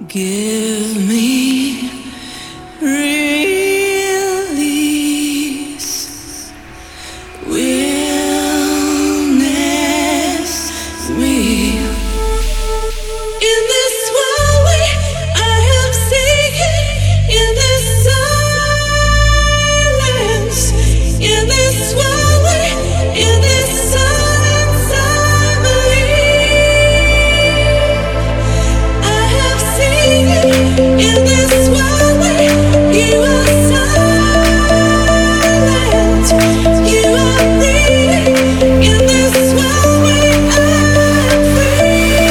Give me release, wellness me. In this world I am seeking, in this silence, in this world, in this silence I believe. I have seen it in this world, you are silent, you are breathing in this world, I am free.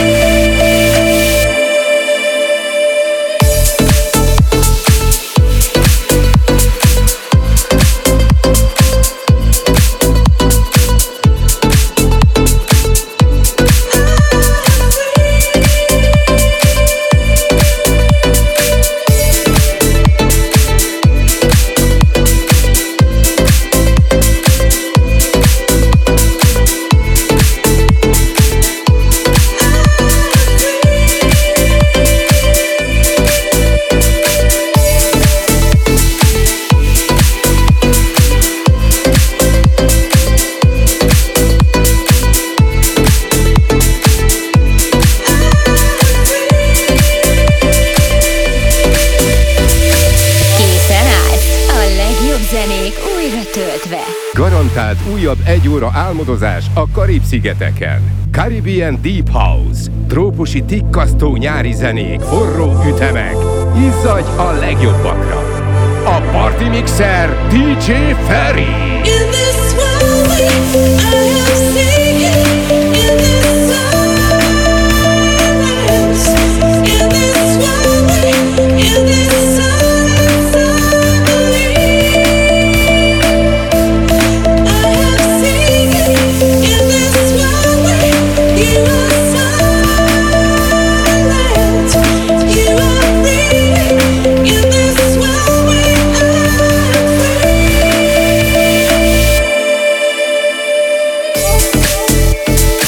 Készen állsz? A legjobb zenék újra töltve. Garantált újabb 1 óra álmodozás a Karib-szigeteken. Caribbean Deep House. Trópusi tikkasztó nyári zenék, forró ütemek. Izzadj a legjobbakra. A Party Mixer DJ Ferry. In this world I am seeking, in this silence, in this world, in this silence I believe. I have seen it in this world, you are silent, you are breathing in this world, I am free.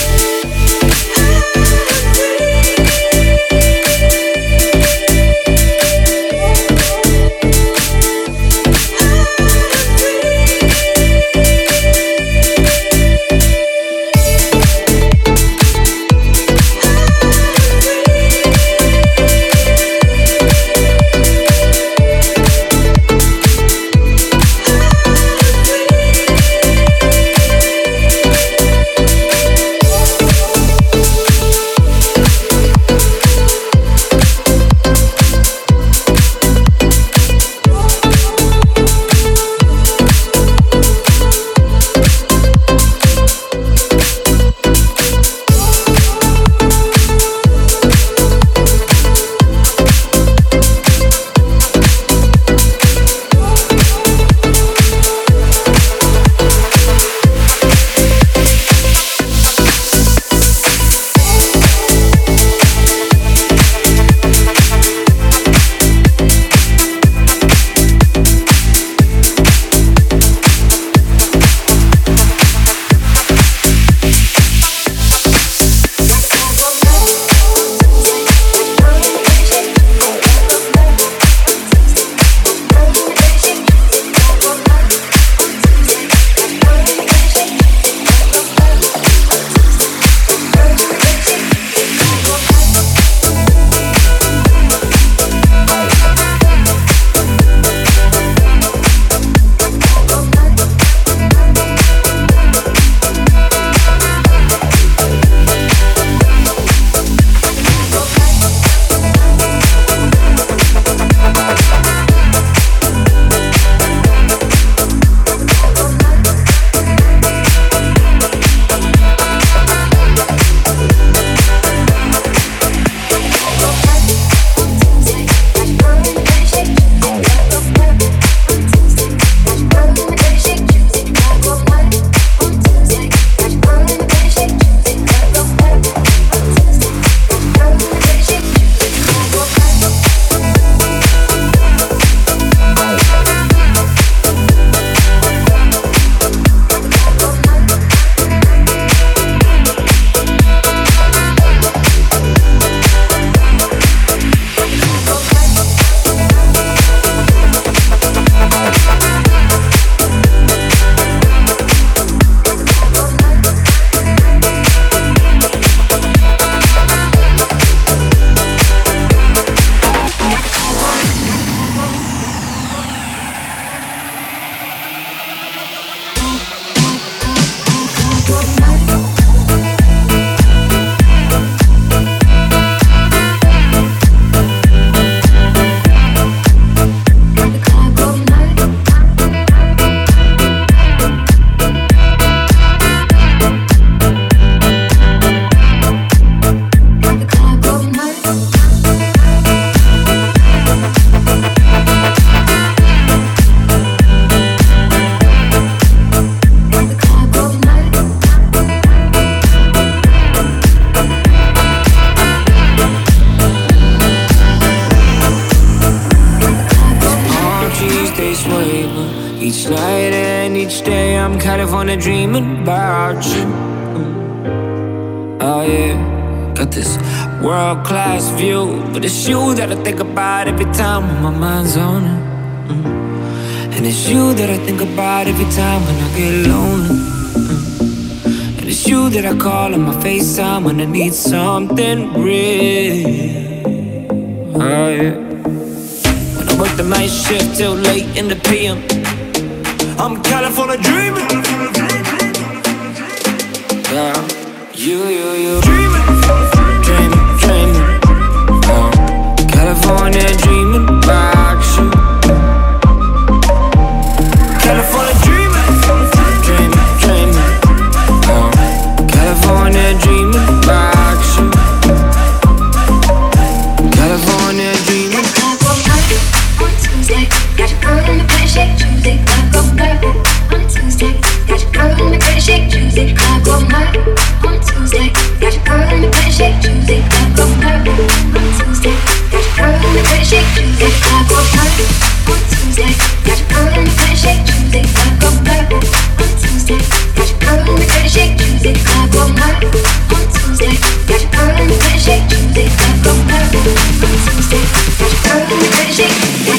each day I'm California dreaming about you. Oh yeah, got this world-class view, but it's you that I think about every time when my mind's on it. And it's you that I think about every time when I get lonely. And it's you that I call on my FaceTime when I need something real. Oh yeah. When I work the night shift till late in the PM, I'm California dreaming. Yeah, you dreaming, dreaming. California dreaming about you. California dreaming, dreaming. California dreaming about you. California dreaming. On Tuesday, got your girl in the pretty shake Tuesday. I go girl on Tuesday, got your girl in the pretty shake Tuesday. I go girl on Tuesday, got your girl in the pretty shake Tuesday. I go girl on Tuesday, got your girl in the pretty shake Tuesday. I go girl on Tuesday, got your girl in the pretty shake Tuesday. I go girl on Tuesday, got your girl in the pretty shake Tuesday. I go girl on Tuesday, got your girl in the pretty shake Tuesday. I go girl on Tuesday, got your girl in the pretty shake Tuesday.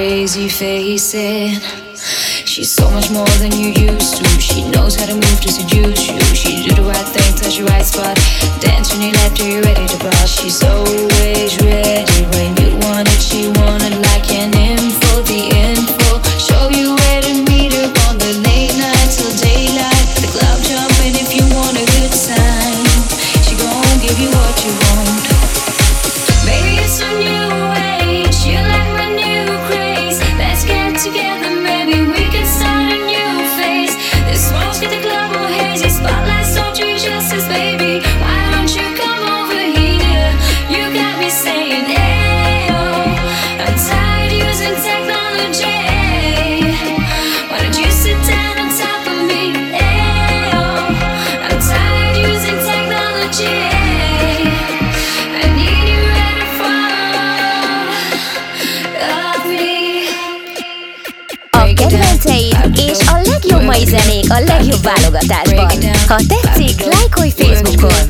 crazy facing. She's so much more than you used to. She knows how to move to seduce you. She do the right thing, touch the right spot. Dance when you left her, you're ready to bounce. She's always ready when you want it. She want it like an info, the info. Show you where to meet her on the late night till daylight. The club jumping if you want a good time. She gon' give you what you want. Baby, it's a new age. You like my new craze. Let's get together, maybe we can start a new phase. This smoke's get the club all hazy. Spotlights don't do justice, baby. Why don't you come over here? You got me saying, hey, oh. I'm tired using technology. Why don't you sit down on top of me? Hey, oh. I'm tired using technology. I need you at the front of me. A kedvenceid és a legjobb mai zenék a legjobb válogatásban. Ha tetszik, lájkolj Facebookon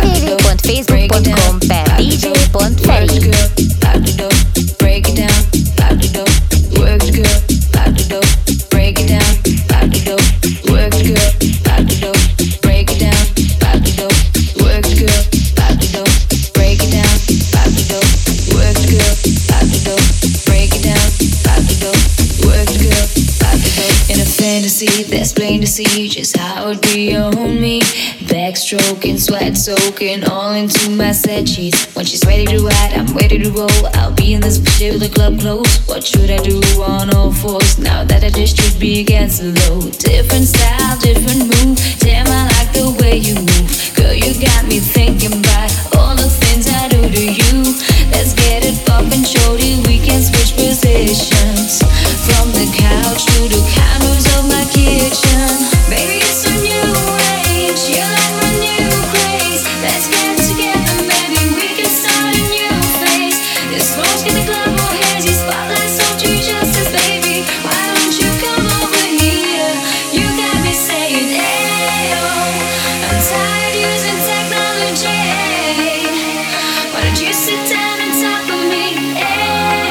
www.facebook.com/dj.feri. Break it down, lock the door, work the girl, lock the door, break it down, lock the door, work the girl, lock the door, break it down, lock the door, work the girl, lock the door, break it down, lock the door, work the girl, lock the door, break it down, lock the door, work the girl, lock the door. In a fantasy that's plain to see just how it be on me. Backstroking, sweat soaking all into my set sheets. When she's ready to ride, I'm ready to roll. I'll be in this bitch till the club close. What should I do on all fours now that I just should be against the low? Different style, different move. Damn, I like the way you move. Girl, you got me thinking about all the things I do to you. Let's get it poppin', shorty. We can switch positions from the couch to the counters of my kitchen. Baby, it's a new age. You like my new craze. Let's get together, maybe we can start a new phase. This smoke's get the club all hazy. Spotlights don't do justice, baby. Why don't you come over here? You got me saying, hey, oh. I'm tired using technology. Why don't you sit down on top of me? Hey,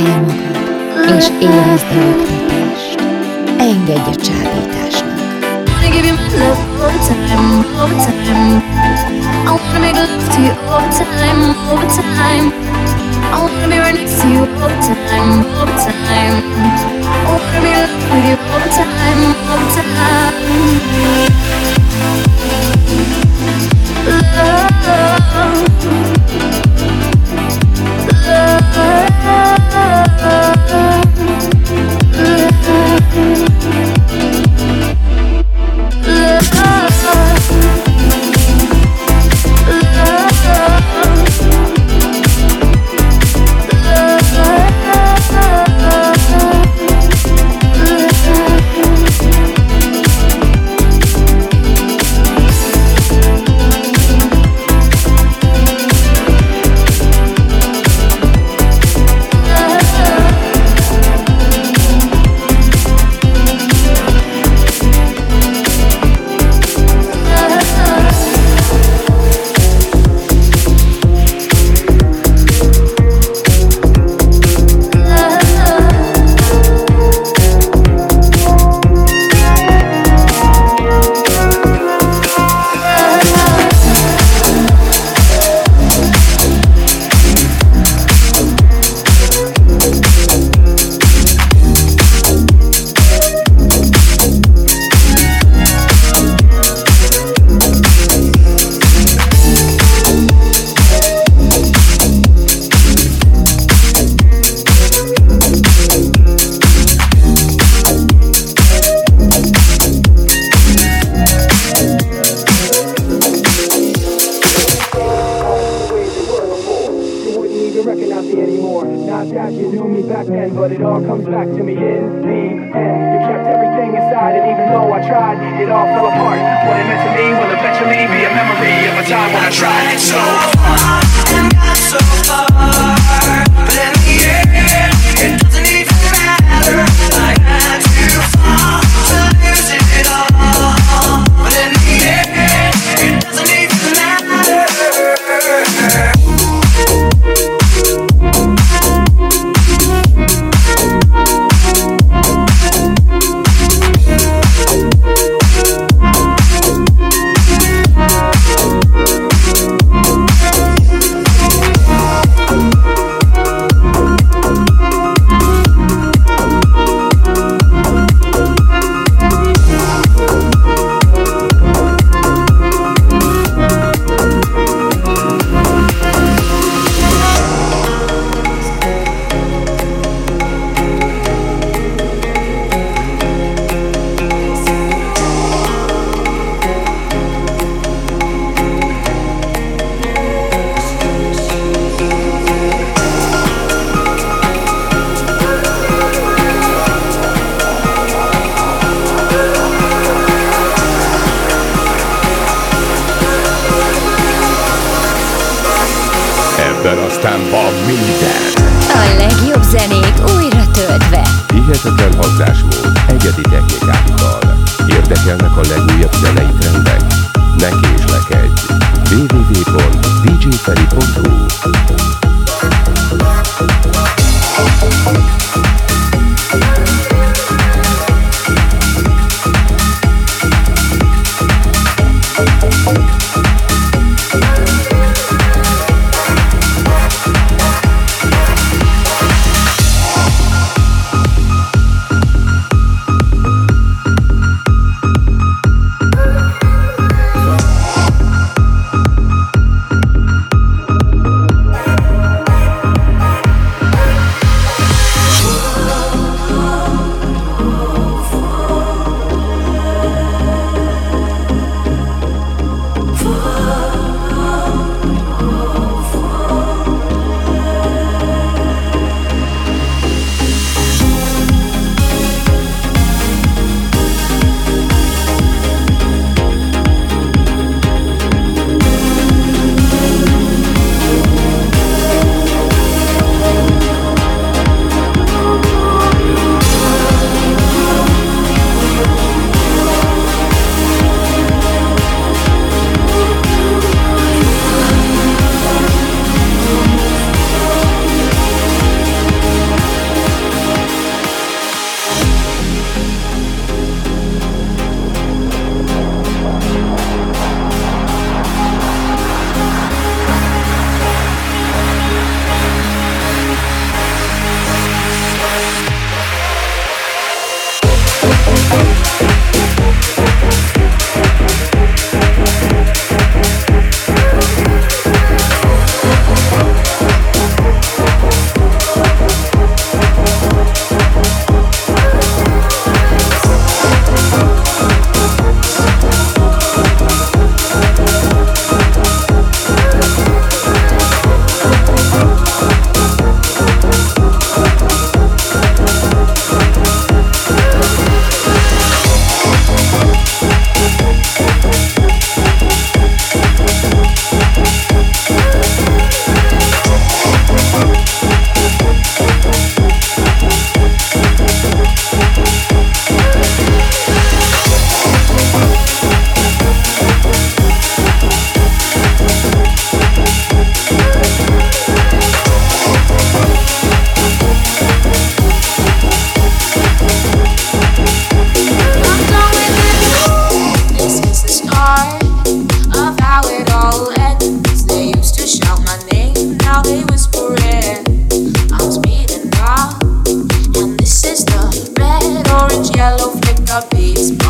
magad, és érezd a rögtönést. Engedj a csábításnak. Wanna give you my love all the time, all the time. I wanna make love to you all the time, all the time. I wanna be right next to you all the time, all the time. I wanna be in love with you all the time, all the time. Ebben aztán van minden. A legjobb zenék újra töltve. Hihetetlen hatásmód, egyedi technikákkal. Érdekelnek a legújabb zenei trendek? Ne késlekedj! www.djferi.hu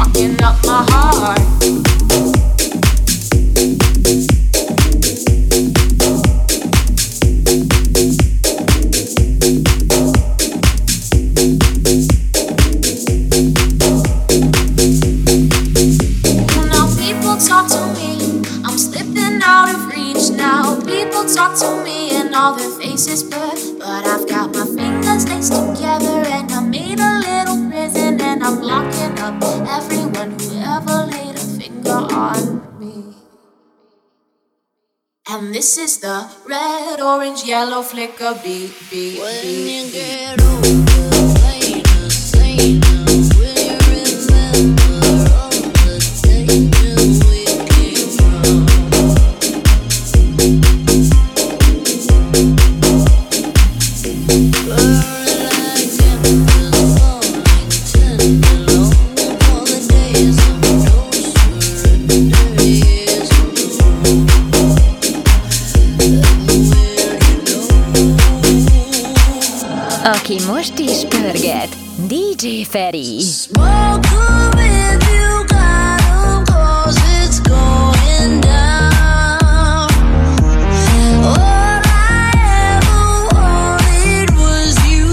fucking up my heart. Talk to me and all their faces blur, but I've got my fingers laced together and I made a little prison and I'm locking up everyone who ever laid a finger on me. And this is the red, orange, yellow flicker beat. When you get older, later, say now, will you remember all the danger we came from? Aki most is pörget, DJ Feri. Smoke with you, got 'em 'cause it's going down. All I ever wanted was you.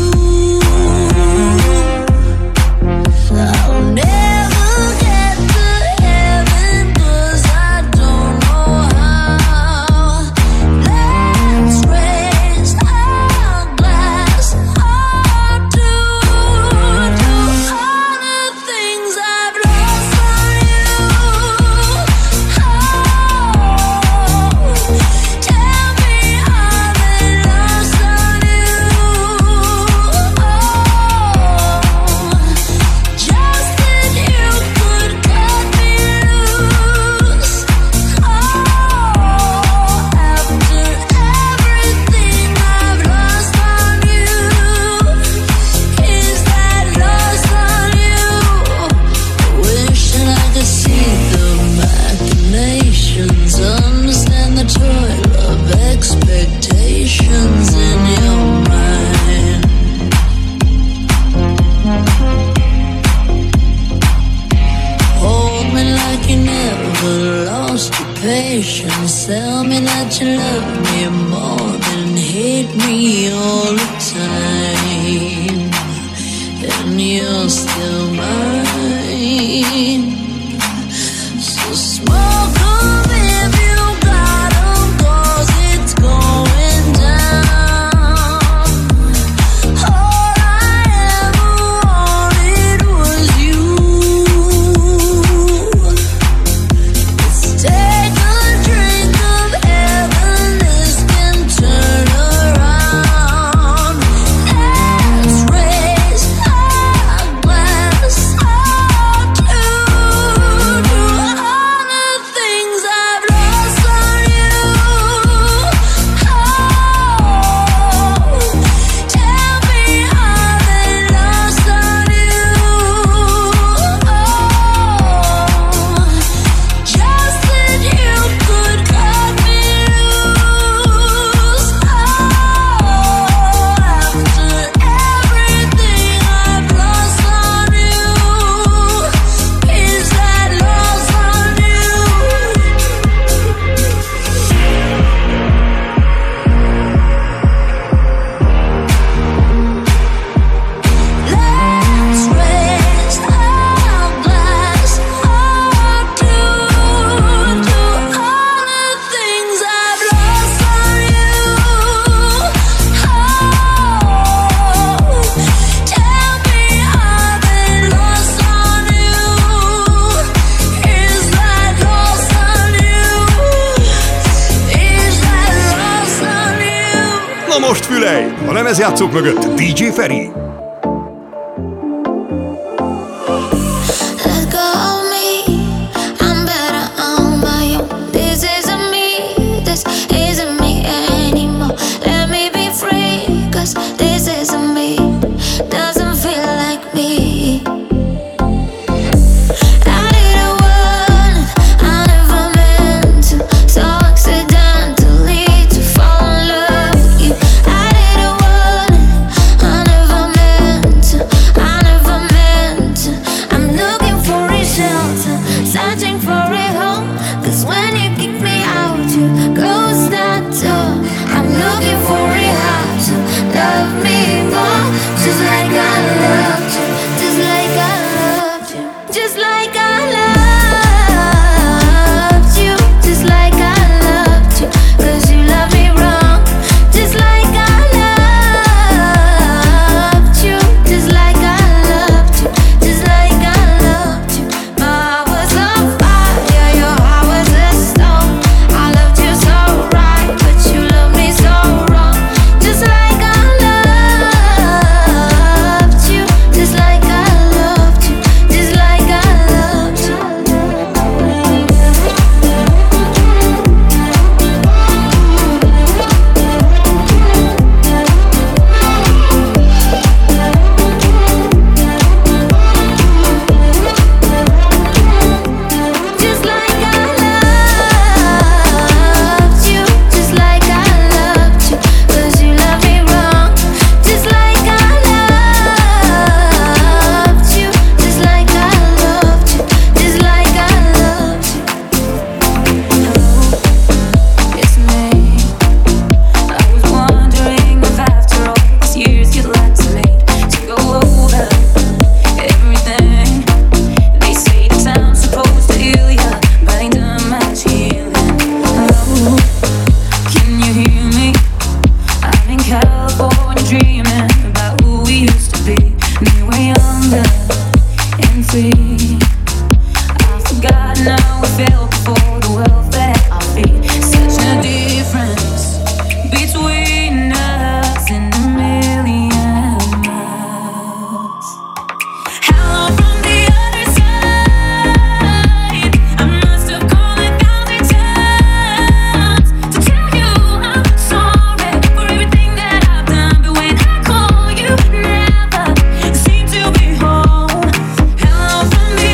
I'll never get to heaven 'cause I don't know how. Let's raise our glass up to all the things I've lost on you. Oh, tell me I've been lost on you. Oh, just that you could cut me loose. Oh, after everything I've lost on you, is that lost on you? Wishing I could see the machinations, understand the toil of expectations in your mind. Hold me like you never lost your patience. Tell me that you love me more than hate me all the time. And you're still mine. So smoke 'em if you got 'em 'cause it's going down. All I ever wanted was you. Let's take a drink of heaven, this can turn around. Let's raise our glass up to all the things I've lost on you. Oh, tell me I've been lost on you. Oh, just that you could cut me loose. Oh, after everything I've lost on you, is that lost on you? Let's raise our glass up to all the things I've lost on you. Oh, tell me I've been lost on you. Is that lost on you? Is that lost on you? Na most fülej! A lemezjátszók mögött DJ Feri. Let go of me, I'm better on my own. This isn't me, this isn't me anymore. Let me be free, 'cause this isn't me, doesn't feel like me. I didn't want, I never meant to, so accidentally to fall in love with you. I didn't want, I never meant now we fell before the world fell at our feet. Such a difference between us and a million miles. Hello from the other side. I must have called 1,000 times to tell you I'm sorry for everything that I've done. But when I call you, never seem to be home. Hello from the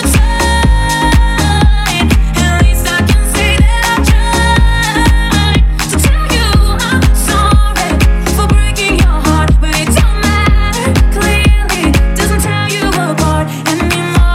outside. At least I can say that I tried to tell you I'm sorry for breaking your heart. But it don't matter, clearly doesn't tear you apart anymore.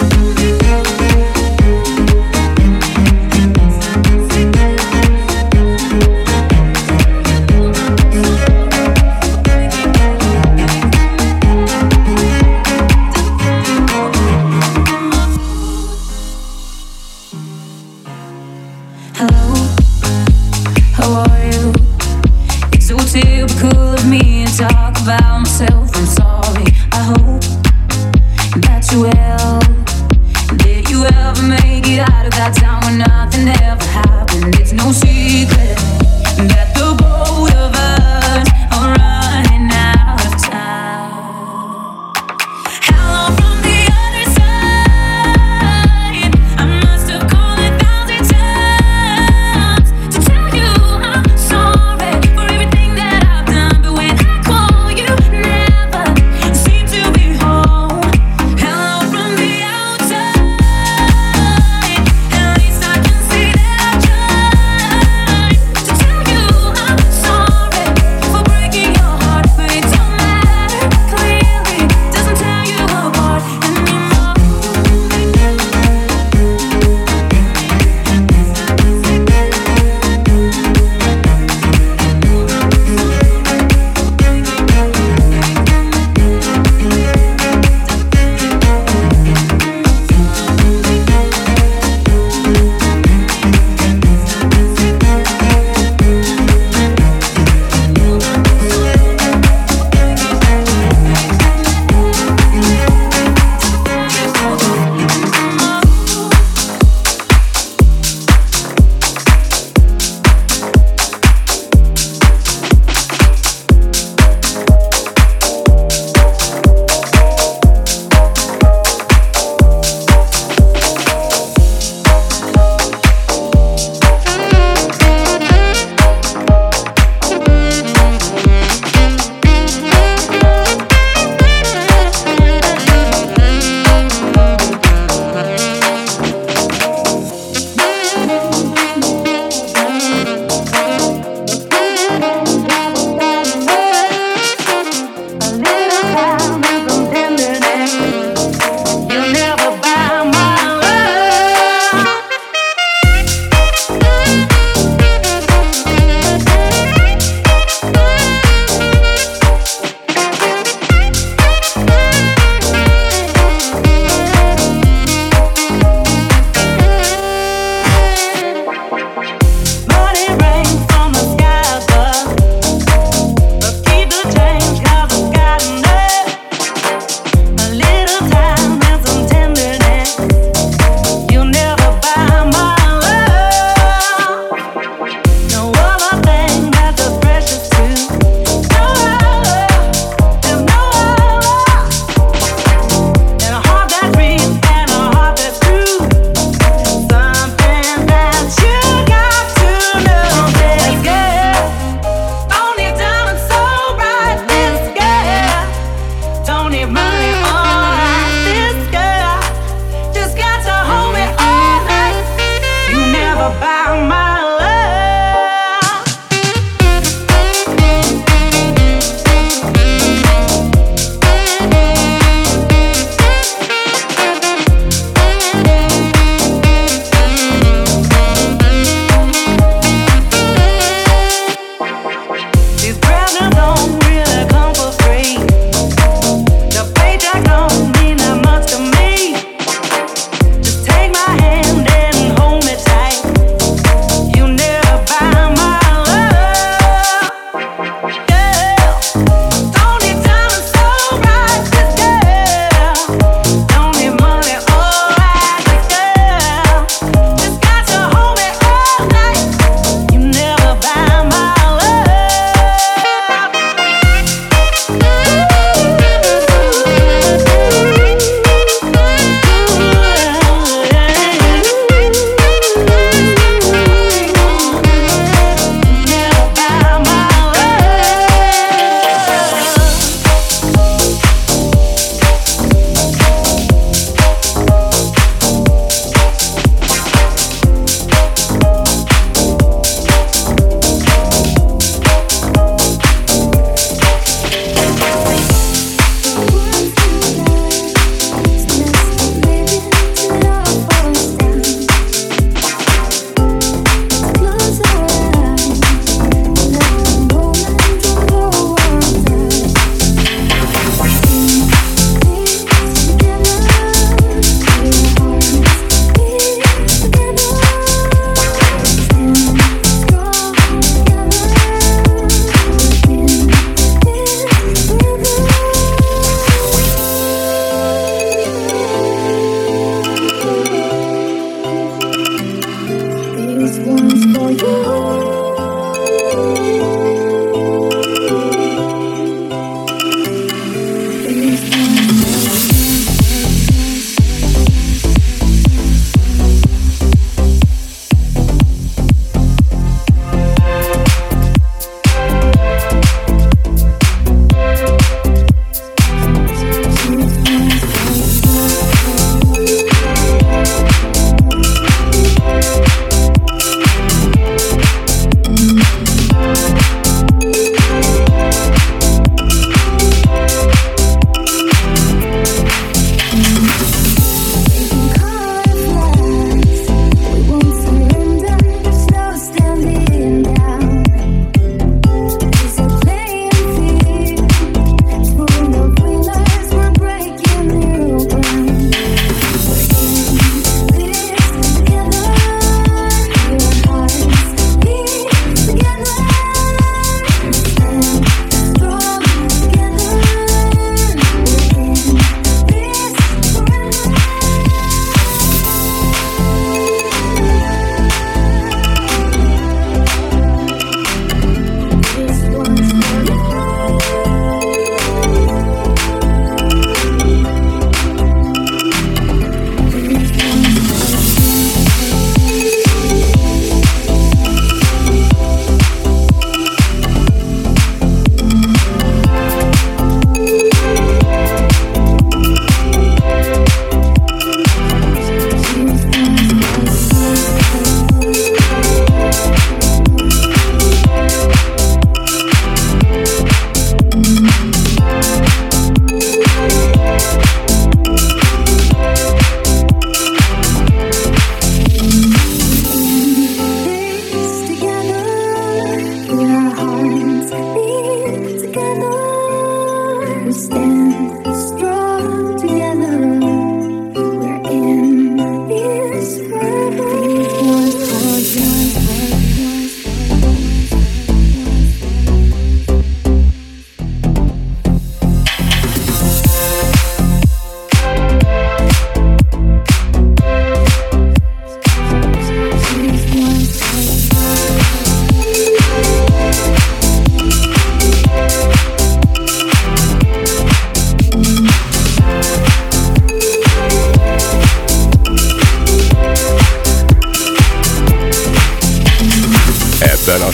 Hello, how are you? It's so typical of me to talk about myself. I'm sorry, I hope that you will. Did you ever make it out of that time when nothing ever happened? It's no secret that the both of us are running out of time. Hello from the other side. I must have called 1,000 times to tell you I'm sorry for everything that I've done. But when I call you, never seem to be home. Hello from the outside. At least I can say that I tried to tell you I'm sorry for breaking your heart. But it don't matter, clearly doesn't tear you apart anymore. You'll never buy my love. Money rains from the sky above, but keep the change 'cause I've got enough. A little time and some tenderness. You'll never buy my love. No other thing that's as precious to. No other, there's no other. And a heart that beats and a heart that's true. Something that you got to know. This girl don't need diamonds so bright. This girl don't need money all night. This girl just got to hold me all night. You never buy my love. These presents don't really come for free. The paycheck don't mean that much to me. Just take my hand and hold me tight.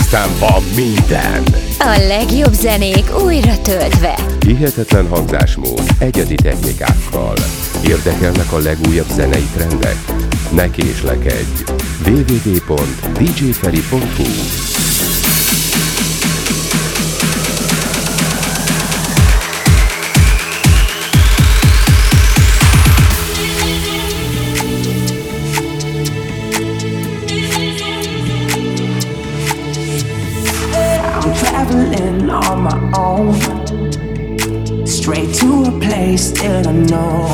aztán van minden. A legjobb zenék újra töltve. Hihetetlen hangzásmód, egyedi technikákkal. Érdekelnek a legújabb zenei trendek? Ne késlekedj! www.djferi.hu Traveling on my own, straight to a place that I know.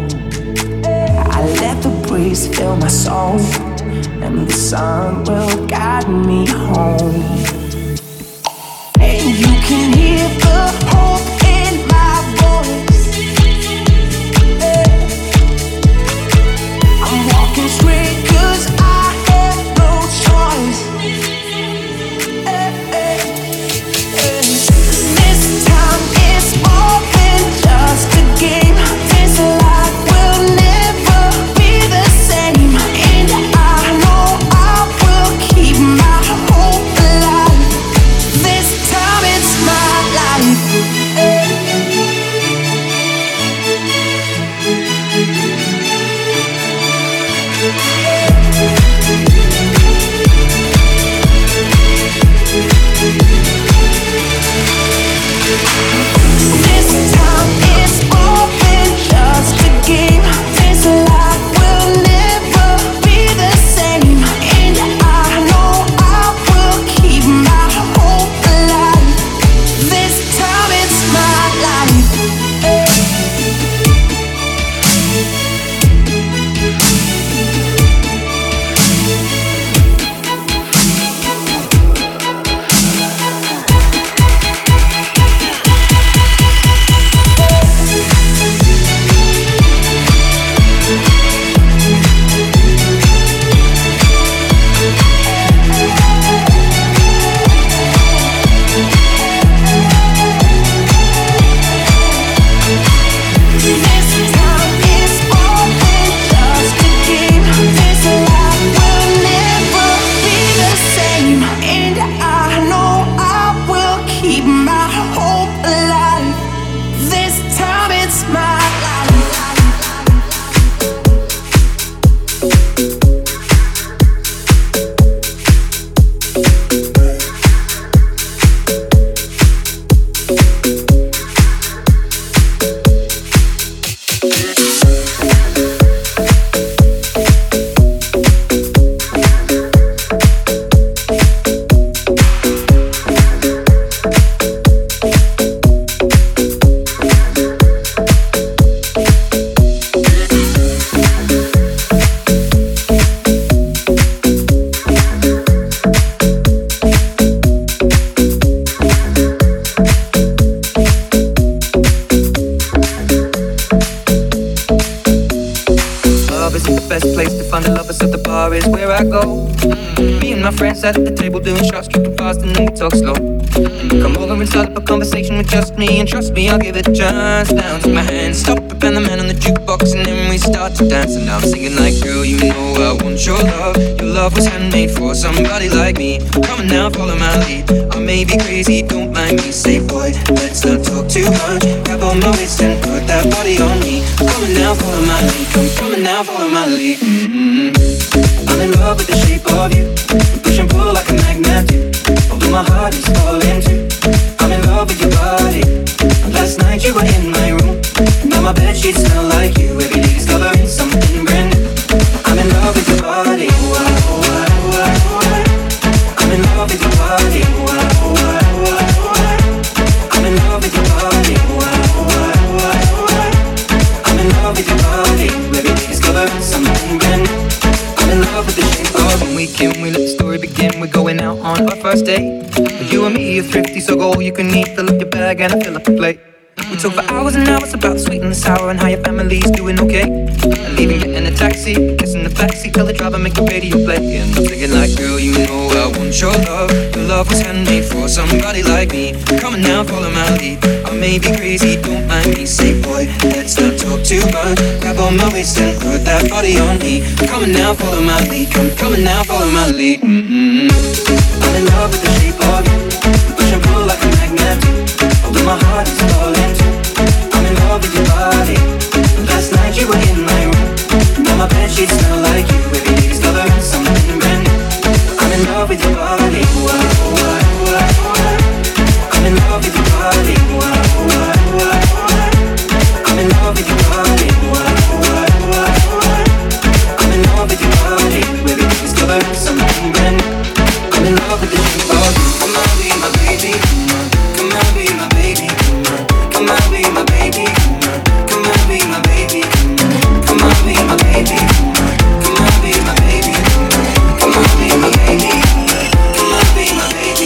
I let the breeze fill my soul, and the sun will guide me home. And you can hear the hope in my voice. I'm walking straight 'cause I have no choice. This time it's more than just a game. This life will never be the same, and I know I will keep my hope alive. This time it's my life. This time it's more than just a game. This life will never be the same, and I know I will keep my hope alive. This time it's my life. This time it's more than just a game. This life will never be the same, and I know I will keep my hope alive. This time it's my life. Love isn't the best place to find a lover, so the bar is where I go. Me and my friends sat at the table doing shots, tripping fast, and then we talk slow. Come over and start up a conversation with just me, and trust me, I'll give it a chance. Down to my hand, stop it, and the man on the jukebox, and then we start to dance. And now I'm singing like, girl, you know I want your love. Your love was handmade for somebody like me. Come on now, follow my lead. I may be crazy, don't mind me. Say, boy, let's not talk too much. Grab on my waist and put that body on me. Come on now, follow my lead. Come on now, follow my lead. I'm in love with the shape of you. We push and pull like a magnet do. Although my heart is falling too. I'm in love with your body. Last night you were in my room. Now my bedsheets smell like you. Every day discovering something brand new. I'm in love with your body. I'm in love with your body. I'm in love with your body. I'm in love with your body. Every day discovering something brand new. I'm in love with the shape of when we can. We let the story begin. We're going out on our first date. You and me are thrifty, so go all you can eat. Fill up your bag and I fill up the plate. We talk for hours and hours about the sweet and the sour and how your family's doing okay. And leaving it in a taxi, kissing the backseat, tell the driver make the radio play. And I'm thinking like, girl, you know I want your love. Your love was handmade for somebody like me. Come on now, follow my lead. I may be crazy, don't mind me. Say, boy, let's not talk too much. Grab on my waist and put that body on me. Come on now, follow my lead. Come on now, follow my lead. I'm in love with the shape of you. We push and pull like a magnet. Although my heart is falling too. I'm in love with your body. Last night you were in my room. Now my bedsheets smell like you. Every day discovering something brand new. I'm in love with your body. I'm in love with your body. I'm in love with your body. I'm in love with your body. Every day discovering something brand new. I'm in love with the shape of you. Come on, be my baby. Come on, be my baby. Come on, be my baby. Come on, be my baby. Come on, be my baby. Come on, be my baby. Come on, be my baby. Come on, be my baby.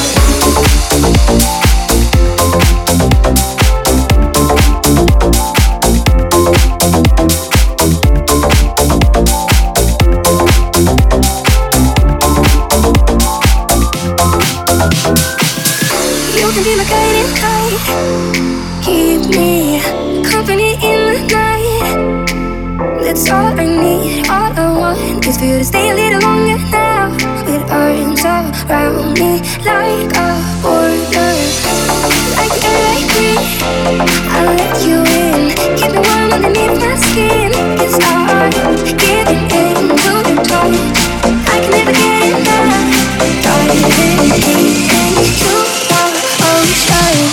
You can be my guiding light. Keep me company in the night. That's all I need. All I want is for you to stay a little longer now. With arms around me like a border. Like the air I breathe, I'll let you in. Keep me warm underneath my skin. It's hard giving in to the touch. I can never get enough. Diving deep into the ocean.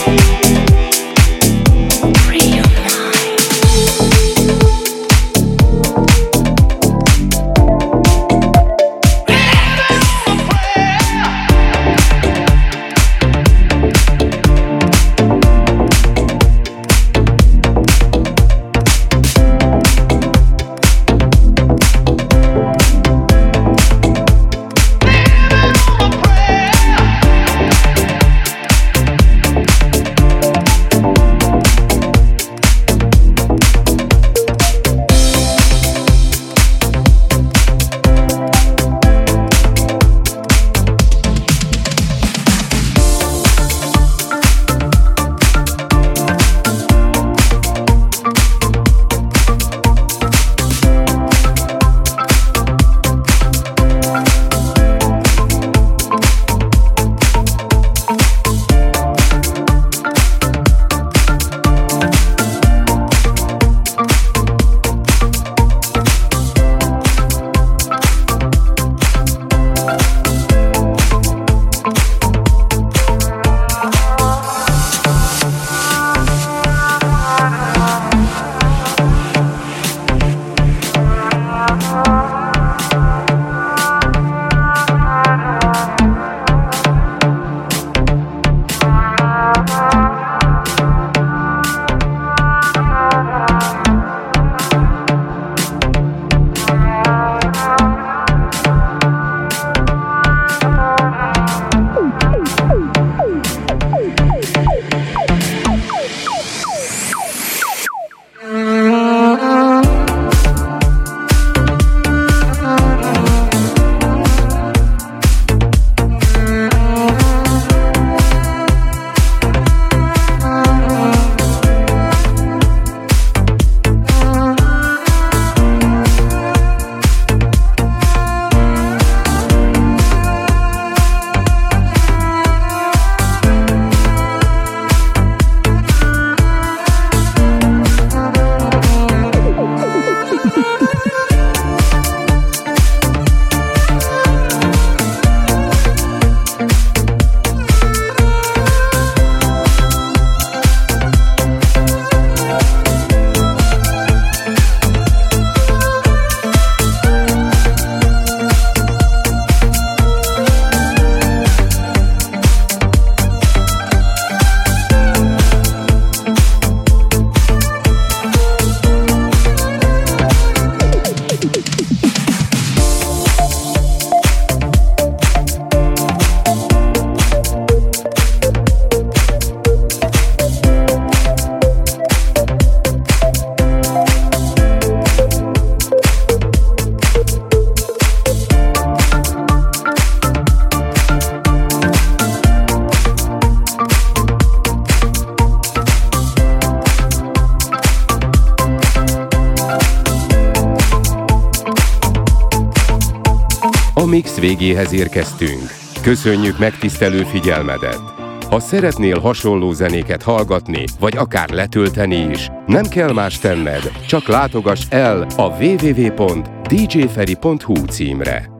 A mix végéhez érkeztünk. Köszönjük megtisztelő figyelmedet! Ha szeretnél hasonló zenéket hallgatni, vagy akár letölteni is, nem kell más tenned, csak látogass el a www.djferi.hu címre.